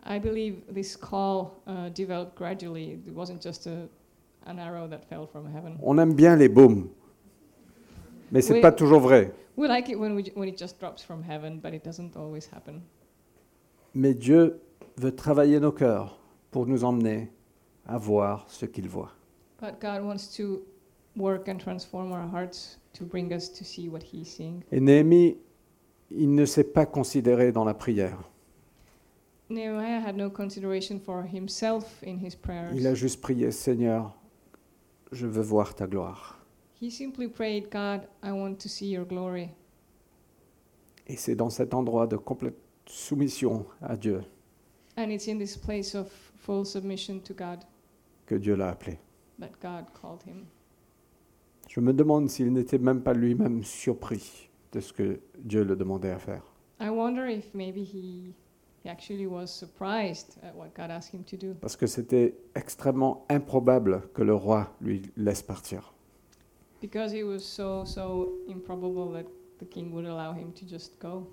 I believe this call uh, developed gradually. It wasn't just a, an arrow that fell from heaven. On aime bien les baumes, mais c'est Oui. pas toujours vrai. We like it when, we, when it just drops from heaven, but it doesn't always happen. Mais Dieu veut travailler nos cœurs pour nous emmener à voir ce qu'il voit. But God wants to work and transform our hearts to bring us to see what He's seeing. Et Néhémie, il ne s'est pas considéré dans la prière. Nehemiah had no consideration for himself in his prayers. Il a juste prié, Seigneur, je veux voir ta gloire. He simply prayed, God, I want to see your glory. Et c'est dans cet endroit de complète soumission à Dieu And it's in this place of full submission to God que Dieu l'a appelé. that God called him. Je me demande s'il n'était même pas lui-même surpris de ce que Dieu le demandait à faire. I wonder if maybe he, he actually was surprised at what God asked him to do. Parce que c'était extrêmement improbable que le roi lui laisse partir. Because it was so, so improbable that the king would allow him to just go.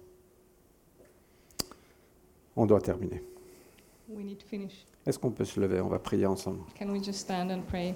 On doit terminer. We need to finish. Est-ce qu'on peut se lever? On va prier ensemble. Can we just stand and pray?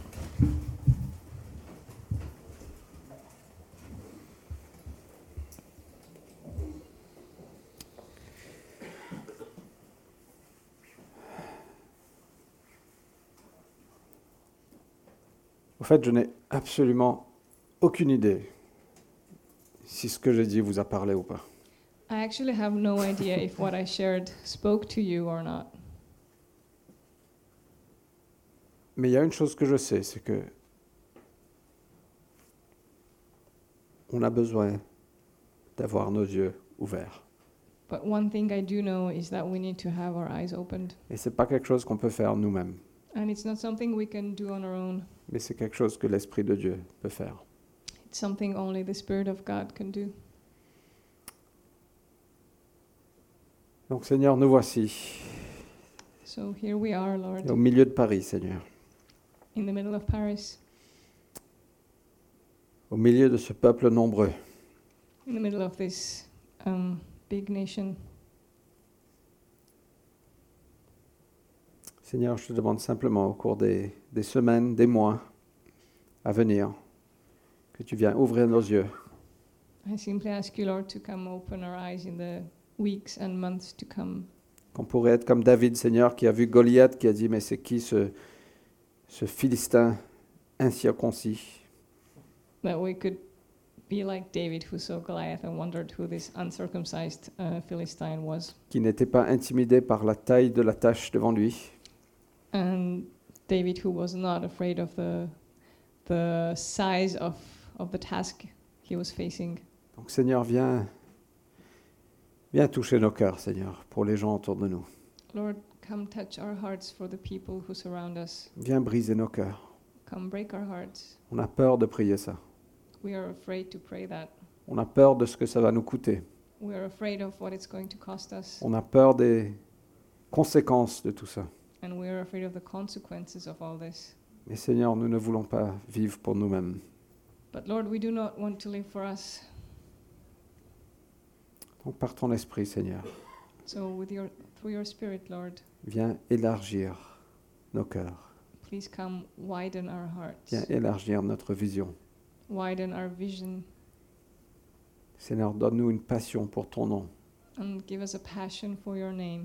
Au fait, je n'ai absolument aucune idée si ce que j'ai dit vous a parlé ou pas. I actually have no idea if what I shared spoke to you or not. Mais il y a une chose que je sais, c'est que on a besoin d'avoir nos yeux ouverts. But one thing I do know is that we need to have our eyes opened. Et c'est pas quelque chose qu'on peut faire nous-mêmes, And it's not something we can do on our own. mais c'est quelque chose que l'Esprit de Dieu peut faire. It's something only the Spirit of God can do. Donc Seigneur, nous voici So here we are, Lord, au milieu de Paris, Seigneur, in the middle of Paris, au milieu de ce peuple nombreux. in the middle of this um, big nation. Seigneur, je te demande simplement au cours des, des semaines, des mois à venir, que tu viennes ouvrir nos yeux, I simply ask you, Lord, to come open our eyes in the weeks and months to come. qu'on pourrait être comme David, Seigneur, qui a vu Goliath, qui a dit, mais c'est qui ce, ce Philistin incirconcis? That we could be like David, who saw Goliath and wondered who this uncircumcised uh, Philistine was. Qui n'était pas intimidé par la taille de la tâche devant lui, And David, who was not afraid of the the size of of the task he was facing. Donc Seigneur, viens, viens toucher nos cœurs, Seigneur, pour les gens autour de nous. Lord, come touch our hearts for the people who surround us. Viens briser nos cœurs. Come break our hearts. On a peur de prier ça. We are afraid to pray that. On a peur de ce que ça va nous coûter. We are afraid of what it's going to cost us. On a peur des conséquences de tout ça. And we are afraid of the consequences of all this. Mais Seigneur, nous ne voulons pas vivre pour nous-mêmes. But Lord, we do not want to live for us. Donc par ton esprit, Seigneur, So with your through your Spirit, Lord, viens élargir nos cœurs. please come widen our hearts. Viens élargir notre vision. Widen our vision Seigneur, donne-nous une passion pour ton nom. and give us a passion for your name.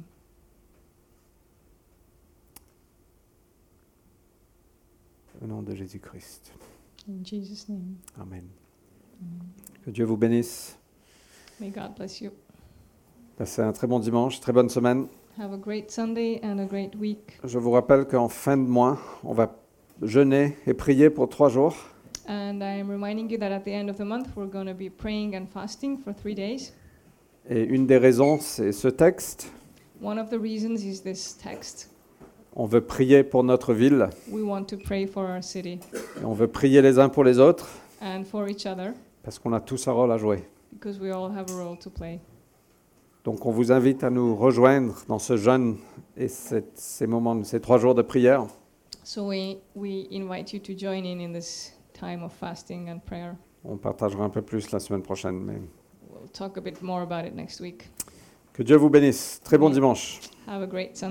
Au nom de Jésus-Christ. In Jesus' name. Amen. Amen. Que Dieu vous bénisse. May God bless you. Passez un très bon dimanche, très bonne semaine. Have a great Sunday and a great week. Je vous rappelle qu'en fin de mois, on va jeûner et prier pour trois jours. And I am reminding you that at the end of the month, we're going to be praying and fasting for three days. Et une des raisons, c'est ce texte. One of the reasons is this text. On veut prier pour notre ville. We want to pray for our city Et on veut prier les uns pour les autres and for each other parce qu'on a tous un rôle à jouer. because we all have a role to play. Donc on vous invite à nous rejoindre dans ce jeûne et cette- ces moments, ces trois jours de prière. So we, we invite you to join in in this time of fasting and prayer. On partagera un peu plus la semaine prochaine. Mais We'll talk a bit more about it next week. Que Dieu vous bénisse. Très bon Oui. dimanche. Have a great Sunday.